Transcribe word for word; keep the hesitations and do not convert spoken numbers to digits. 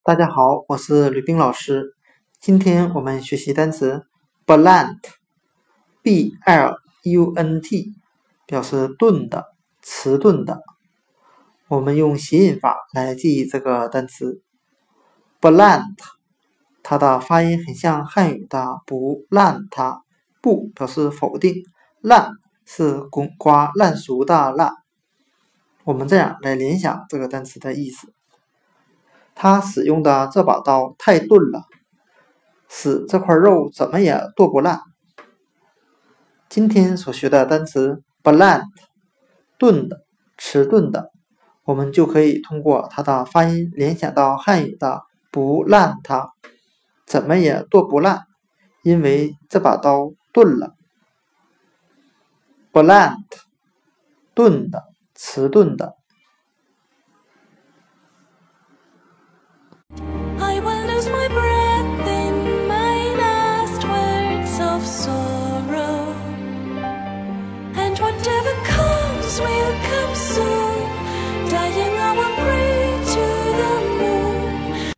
大家好，我是吕冰老师。今天我们学习单词 blunt B L U N T 表示钝的、迟钝的。我们用谐音法来记忆这个单词 blunt， 它的发音很像汉语的不烂它，不表示否定，烂是滚瓜烂熟的烂。我们这样来联想这个单词的意思，他使用的这把刀太钝了，使这块肉怎么也剁不烂。今天所学的单词 blunt 钝的、迟钝的，我们就可以通过它的发音联想到汉语的不烂它，怎么也剁不烂，因为这把刀钝了。blunt 钝的、迟钝的。